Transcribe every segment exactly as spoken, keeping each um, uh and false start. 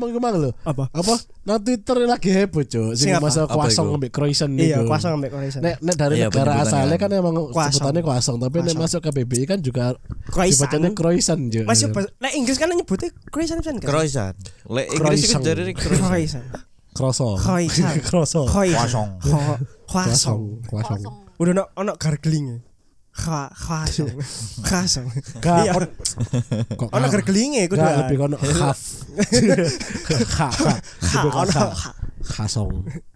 ngomong kemang lho. Apa? Apa? Nang Twitter lagi heboh, Cuk. Sing masalah croissant ambek croissant niku. Iya, croissant ambek croissant. Nek nek dari iya, negara asalnya kan. kan emang sebutannya croissant, tapi nek masuk ke B B I kan juga dibacanya croissant, Cuk. Masih nek Inggris kan nyebutnya croissant kan? Croissant. Lek Inggris iku jare croissant. Croissant. Croissant. Croissant. Croissant. Croissant. Croissant. Udah ono ono gargling. Kha khasong. Khasong. Iya. Kok ono garglinge kudu. Enggak lebih kono khaf. Kha kha. Ono khasong.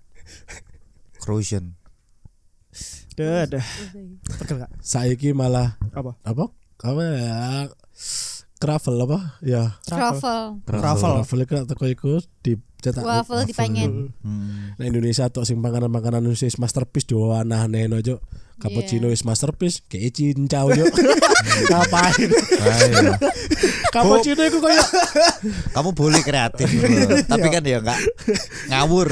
Croissant. Dah dah. Pegel gak? Saiki malah Apa? apa? Apa ya? Travel apa? Ya. Travel. Travel. Travel iku teko iku dicetak Waffle dipengen. Hmm. Nah Indonesia tok sing panganan-panganan Indonesia masterpiece do aneh-aneh Cuk. Cappuccino is masterpiece, kayak cincau yo. Ngapain? Ayo. Cappuccino iku koyo Kamu boleh kreatif tapi kan ya enggak ngawur.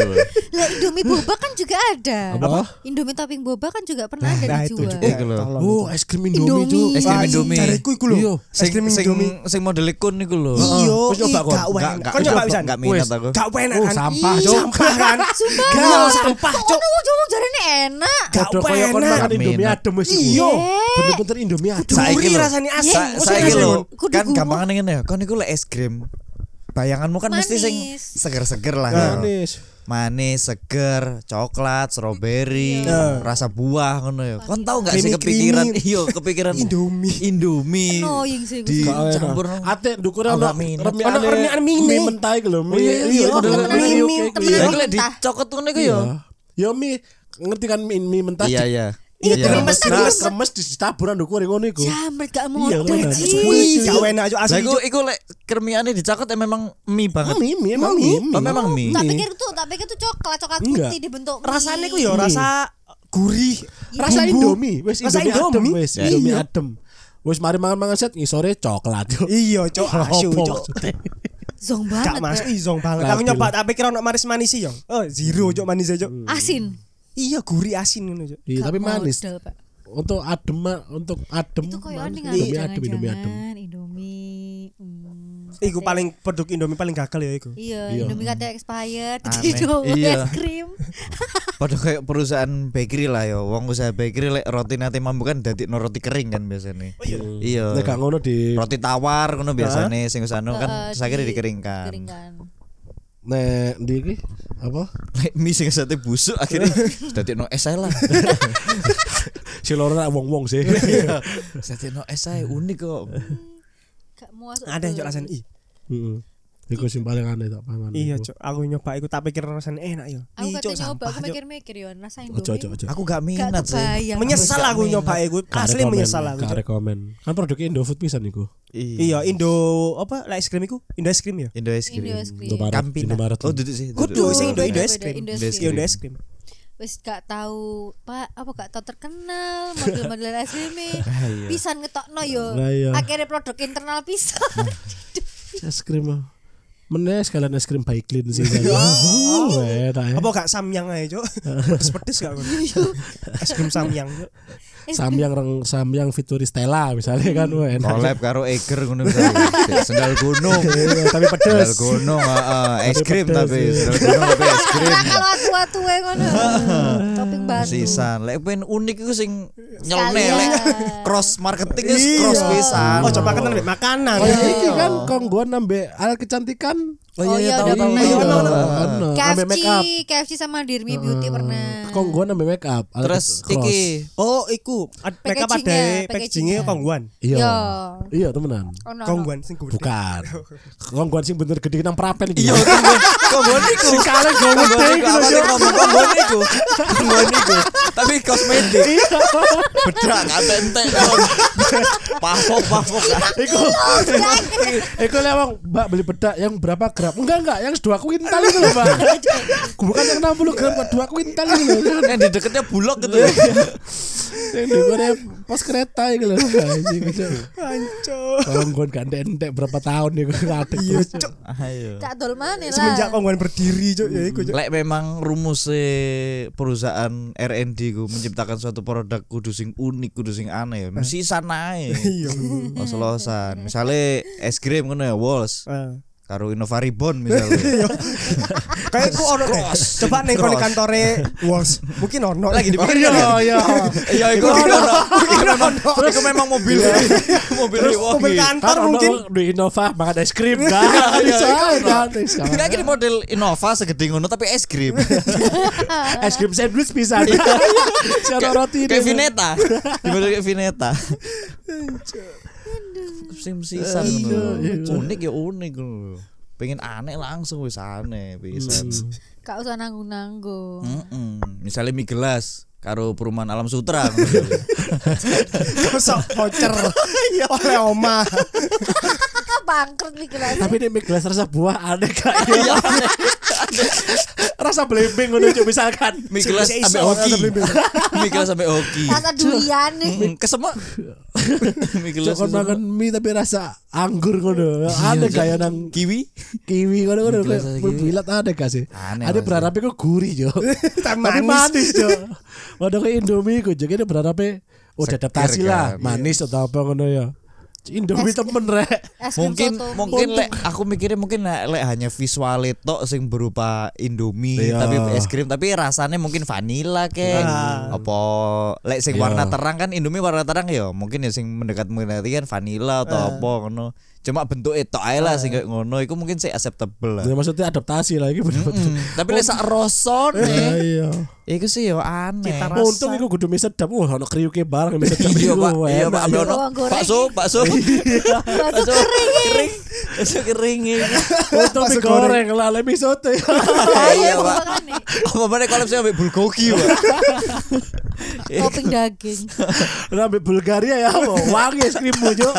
Lah Indomie boba kan juga ada. Apa? Indomie topping boba kan juga pernah ada Nah, itu dijual. juga. Iku lho. Oh, es krim Indomie, Cuk. Es krim Indomie. Jareku iku lho. Iya. Es krim Sing Indomie. sing model kun niku lho. Iya, Wis nyoba kok? gak Enggak enak. enggak Kon nyoba pisan. enggak minat aku. Gak enak Oh, kan? sampah, Ih, Cuk. Sampah kan? Sumpah. Gak sampah, Kok Cuk. ngono ngomong jarene enak. Gak Padha koyo kon enak. makan Indomie Minat. adem wis iku. Iya. Bener-bener Indomie adem. Saiki Gurih lho. rasanya asam. Sa- Kok Saiki rasanya lho. Kudu Kan gurih. gampang ngene ya. Kon iku lek es krim. Bayanganmu kan mesti sing Manis. seger-seger lah ya. Manis. Manis, seger, coklat, strawberry, Iya. rasa buah ngono ya. Kon tahu enggak sih Creamy, kepikiran? creamy. Iya, kepikiran Indomie. Indomie. Annoying sih Di gue. campur. Ate ndukure Oh, ono gak minat. remiane Ono remiane mie. mie mentah iku lho. Mie. iya, iya, model temenan mie mie, oke iku. temenan Ya Iya. iku lek mentah. dicokot ngono iku ya. Ya mie ngerti kan mie, mie mentah. Iya, iya. Iya, Iya. kremes Nah, terus. kremes ditaburan ndukure ngono iku. Jamret gak Iya, model temenan. sih. Wih, gak enak Cuk, Lah asli. iku Cuk. iku lek kremiane dicokot ya memang mie banget. Mie, mie emang mie. Oh, memang mie. Tak pikir tuh, tak pikir tuh coklat, coklat Enggak. putih dibentuk mie. Rasanya ku ya Mie. rasa gurih. Rasa Bumbu. Indomie, wis Rasa Indomie adem Indomie. wis, Iya. Indomie adem. Wis mari mangan-mangan set ngisore coklat. Cuk. Iya, Cuk. Asu, Apa Cuk. maksudnya? Zong Gak banget. masuk Pak. izong banget. Lah, Aku betul. nyoba tak pikir ono manis-manis sih, Yong. Oh, zero Cuk manis aja. Asin. Iya, gurih asin ngono, Cuk. Iya, Gak tapi manis. model, Pak. Untuk adem untuk adem. Itu koyo manis. aneh Indomie kan adem, Indomie adem. Indomie. Hmm, Iku kate- paling produk Indomie paling gagal ya iku. Iya, Iya. Indomie kata expired, Aneh. jadi doang Iya. es krim. Padahal kayak perusahaan bakery lah ya. Wong usaha bakery lek roti nate mambu kan dadi no roti kering kan biasanya. Oh iya. Iya. Nek gak ngono di Roti tawar ngono biasanya sing usah Eh, kan saya kira di- dikeringkan. Dikeringkan. nek di iki apa? Lek mie sing sate busuk akhirnya dadi no es ae lah. Si loro nak wong-wong sih. Sate no es ae unik kok. Gak muas. Ada Cuk rasane. Ih, Heeh. Iku sing paling aneh tak pangan. iya iku. Cuk. Aku nyoba iku tak pikir rasane enak ya. Aku Ih, Cuk, katanya nyoba, sampah, aku Cuk. mikir-mikir yo rasa Ojo Indomie. ojo ojo. Aku gak Gak minat sih. kebayang. Menyesal Gak aku minat. nyoba iku. Gak Asli rekomen, menyesal aku. gak Cuk. rekomen. Kan produknya Indofood pisan iku. Iya, Indo apa? Lah es krim iku? Indo es krim ya? Indo es krim. Indo es krim. Indomaret, Campina. Indomaret. Oh duduk sih. Kudu duduk. sing Indo Indo es Beda-beda, krim. Indo es Indo es Iya, krim. Indo es krim. Wis gak tahu Pak, apa gak tahu terkenal model-model es krim Ah, iya. pisan ngetokno yo. Lah iya. Akhirnya produk internal pisan. Es krim. ah. Meneh sekalian es krim by clean sih. Oh, enak ya. Apa gak samyang ae, Cuk? Pedes-pedes gak kon? Es krim samyang, Cuk. Samyang reng samyang fituri Stella misalnya kan wah enak. Collab karo Eiger ngono misalnya. Sendal gunung. Iya, tapi Sendal pedes. gunung, heeh, es Tapi krim pedes, tapi iya. sendal gunung tapi es krim. Nah, kalau atu-atu e ngono. Topping batu. Sisan, lek pengen unik iku sing Sekalian. nyelne lek cross marketing wis cross pisan. Oh, coba kan ambek makanan. Kayak iki kan kongguan nambah alat kecantikan. Oh iya, tahu udah tahu. pernah. Iya, Ono, ono. ono. Nambah K F C, make up. K F C sama Dirmi Beauty pernah. Kongguan nambah make up. alat Terus cross. iki Oh, iku ad- mereka pada Packagingnya, packagingnya packagingnya. kongguan. Iya. Yo. Iya temenan. Ono. Kongguan sing gede. Bukan. Kongguan sing bener gede nang prapen iki. Iya, kongguan iku. Sing kaleng Kongguan gede iku apa sih ngomong kongguan iku? Kongguan iku. Tapi kosmetik. Bedak gak entek. Pahok pahok. Iku. Iku lewang Mbak beli bedak yang berapa gram? Enggak enggak, yang dua kuintal itu loh, Mbak. Bukan yang enam puluh gram, dua kuintal itu loh. Yang di deketnya bulog gitu. Yang di Korea pos kereta itu loh. Anjing itu. Hancur. Kongguan gak entek berapa tahun nih ngadeg Iya, terus. Cuk. Ayo. Tak dol maneh lah. Semenjak kongguan berdiri, Cuk, ya iku, Cuk. Lek memang rumus perusahaan R and D ku menciptakan suatu produk kudu sing unik, kudu sing aneh, mesti sana ae. Iya. Los-losan. Misale es krim ngono ya, Walls. Ah. karo Innova Reborn misalnya. Kayak ku ono deh. Coba ning kono kantore Walls. Mungkin ono. Lagi dipikir Iya iya. Iya iku ono. Terus iku memang mobil. Mobil Mobil kantor Kan mungkin. ono di Innova makan es krim kan. Bisa kan. Enggak kira model Innova segede ngono tapi es krim. Es krim sandwich bisa. Cara roti Kayak Vineta. Dimodel kayak Vineta. Sim sisan ngono. Unik ya unik ngono. Pengen aneh langsung wis aneh pisan. Gak usah nanggung-nanggung. Heeh. Misalnya mie gelas karo perumahan Alam Sutra. Kosok voucher. Oleh oma. Bangkrut nih kelas. Tapi ini mie gelas rasa buah aneh kayaknya. Rasa blembing ngono cuk misalkan. Mie gelas sampai hoki. Mie gelas sampai hoki. Rasa durian nih. Mm, Kesemak. Mie gelas Cuk kesemak. makan mie tapi rasa anggur ngono. Aneh kayak nang Kiwi. kiwi ngono ngono. Mie gelas rasa kiwi. Berbilat ada gak sih? Aneh, Ada Mas. berharapnya kok gurih jo. Tapi Manis. manis jo. Waduh kayak Indomie kok jadi berharapnya oh Seger adaptasi lah kan, manis atau apa ngono ya. Indomie temen rek. Es krim Mungkin soto mungkin mie. lek aku mikirnya mungkin lek lek hanya visual tok sing berupa Indomie Iya. tapi es krim tapi rasanya mungkin vanilla kek. Nah. Apa lek sing Iya. warna terang kan Indomie warna terang ya mungkin ya sing mendekat mendekati kan vanilla atau apa ngono. Cuma bentuk itu ae lah sing kayak ngono iku mungkin sih acceptable lah. Ya, maksudnya adaptasi lah iki bener-bener. Mm, tapi lek sak rosone Iya. iku sih yo aneh. Cita rasa. Untung iku kudu mie sedap. Wah ono kriuke bareng mie sedap. Iya iku, Pak, iya enak, Pak, ambil ya. ono Bawang goreng. bakso, bakso. Bakso kering. Bakso kering. Untung mie goreng lah le mie soto. Iya Pak. Makanya. Apa mana kalau saya ambil bulgogi Pak. Topping daging. Lah ambil Bulgaria ya, wangi es krimmu jo.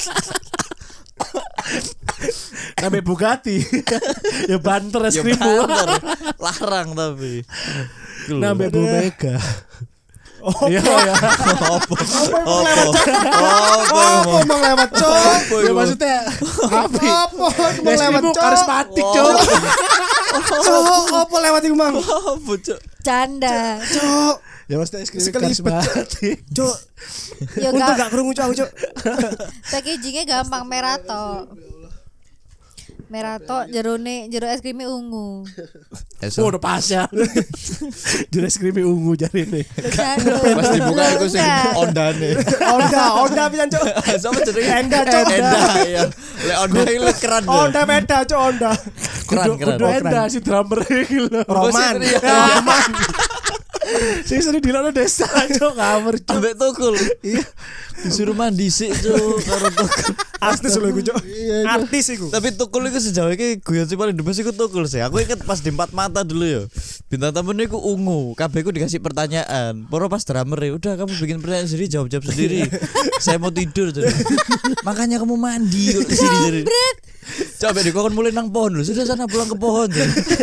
Ambil Bugatti. Ya banter es Ya krimmu. banter. Larang tapi. Nambah Bu Mega. Oh, Iya ya. Apa? Apa? Apa mau lewat cok? Ya maksudnya api. Apa mau Es lewat krimmu cok? karismatik jo. Cok, apa lewat iku mang? Apa cok? Canda. Cok, Ya maksudnya es krim Sekelibet. karismatik. cok. Ya Untung gak. gak krungu cok aku cok. Packagingnya gampang merah toh. Merah toh jerone jero es krimnya ungu. Oh udah pas ya. Jadi es krimnya ungu jari nih. Pas dibuka iku sing ondane. Onda, Onda pisan cok. Sama jenenge Enda, Cok. Enda ya. Lek onda iki lek keren lho. Onda beda cok Onda. Keren Kudu keren. kudu enda si drummer iki lho. Roman. Roman. Sing sering dilokno desa cok kamer cok. Ambek tukul. Iya. Disuruh mandi sik cuk karo tukul. Artis lho iku cok. Artis iku. Tapi tukul itu sejauh ini guyon sih paling the best iku tukul sih. Aku inget pas di Empat Mata dulu ya. Bintang tamunya iku ungu. Kabeh ku dikasih pertanyaan. Poro pas drummer ya, udah kamu bikin pertanyaan sendiri, jawab-jawab sendiri. Saya mau tidur jadi. Makanya kamu mandi kok di sini jadi. Coba di kon mulai nang pohon lho. Sudah sana pulang ke pohon.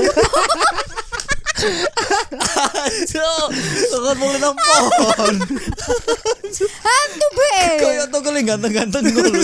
Cuk, kon mulai nang pohon. Hantu be. Kayak tukul yang ganteng-ganteng ngono.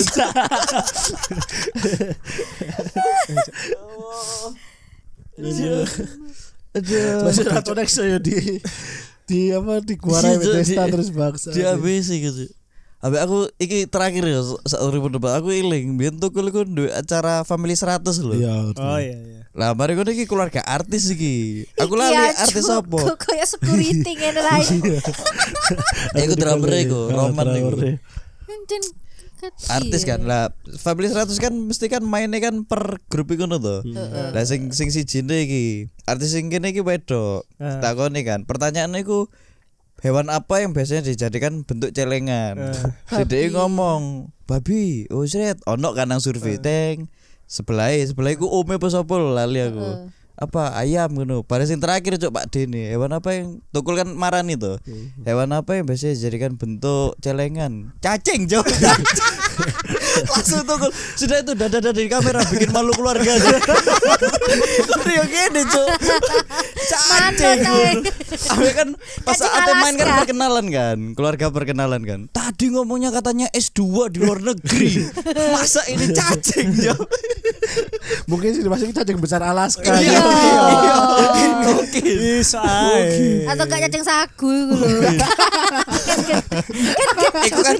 Aduh. Masih ratu next ya di di apa di kuarai Di- Bethesda di- terus bangsa. Di A B C gitu. Abe aku iki terakhir ya sak urip debat aku iling biyen tukul iku duwe acara Family seratus lho. Iya. Oh iya iya. Lah mari ngono iki keluarga artis iki. Aku Iki lali ya, artis Cuk. apa? Kok kayak security ngene lah. Iku drummer iku, Roman iku. Encen kecil. Artis kan lah Family seratus kan mesti kan mainnya kan per grup iku ngono to. Lah sing sing sijine iki artis sing kene iki wedok. Ah. Takoni kan pertanyaannya iku hewan apa yang biasanya dijadikan bentuk celengan? Si Babi. Dek ngomong, babi. Oh sret, ono kan nang survei teng. Sebelah sebelah iku ome apa sapa lho, lali aku. Heeh. Apa ayam ngono. Pada sing terakhir cok Pak Dene, hewan apa yang tukul kan marani to. Hewan apa yang biasanya dijadikan bentuk celengan? Cacing, Cok. Langsung tukul. Sudah itu dada-dada di kamera bikin malu keluarga. Rio gini, Cok. Cacing. Abe kan pas Cacing saat main kan Alaska. perkenalan kan, keluarga perkenalan kan. Tadi ngomongnya katanya S dua di luar negeri. Masa ini cacing, Cok. Mungkin sih masih cacing besar Alaska. Iya. Iya. Mungkin. Bisa ae. Atau gak cacing sagu iku lho. Iku kan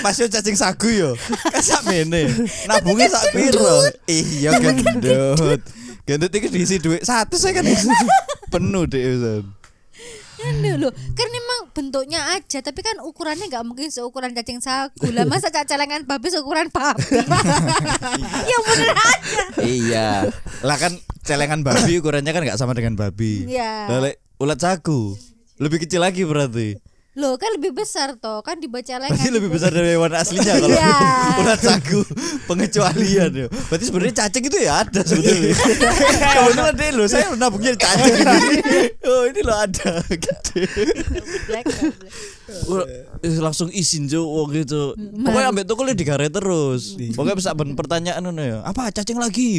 pas yo cacing sagu yo. Kan sak mene. Nabunge sak piro? Iya gendut. Gendut iki diisi dhuwit satu saya kan penuh deh Ustaz. Anu loh, kan memang bentuknya aja, tapi kan ukurannya nggak mungkin seukuran cacing sagu lah. Masa celengan babi seukuran babi? Ya bener aja. Iya. Lah kan celengan babi ukurannya kan nggak sama dengan babi. Iya. Lah lek ulat sagu lebih kecil lagi berarti. Loh kan lebih besar toh, kan di celengan. Berarti lebih besar dari hewan aslinya kalau Iya. ulat sagu pengecualian ya. Berarti sebenarnya cacing itu ya ada sebetulnya. Kebetulan deh lo, saya nabungnya cacing ini. Oh ini lo ada gede. Black, black. Eh, langsung izin jo wong gitu. Pokoknya ambek tukulnya digaret terus. Pokoknya bisa ben pertanyaan ngono ya. Apa cacing lagi?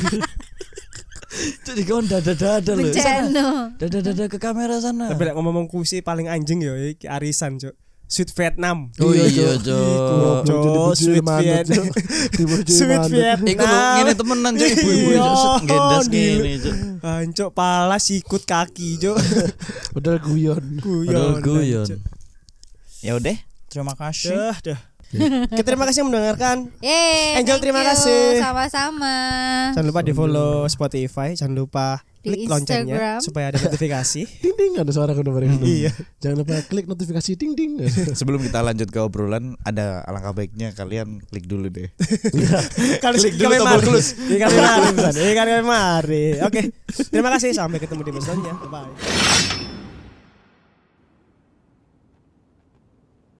Jadi kawan dada-dada loh. Bencana. Dada-dada ke kamera sana. Tapi lek ngomong kusi paling anjing yo iki arisan, Cuk. Sweet Vietnam. Oh iya, Jo. Cuk, Sweet Vietnam. Sweet Vietnam. Iku lho ngene temenan Cuk, ibu-ibu Iya, gendas Dil. ngene Cuk. Ancuk pala sikut kaki, Cuk. Padahal guyon. Padahal guyon. Cuk. Ya udah, terima kasih. Dah, dah. Oke, terima kasih mendengarkan. Yeay, Angel, thank terima you. kasih. Sama-sama. Jangan lupa di follow Spotify, jangan lupa Di klik loncengnya Instagram. supaya ada notifikasi. Ding ding ada suara kudu bareng. Iya. Jangan lupa klik notifikasi ding ding. Sebelum kita lanjut ke obrolan, ada alangkah baiknya kalian klik dulu deh. Kali Klik dulu kami tombol mari. close. Iya kami mari, Busan. Iya kami mari. Oke. Terima kasih, sampai ketemu di episode selanjutnya. Bye.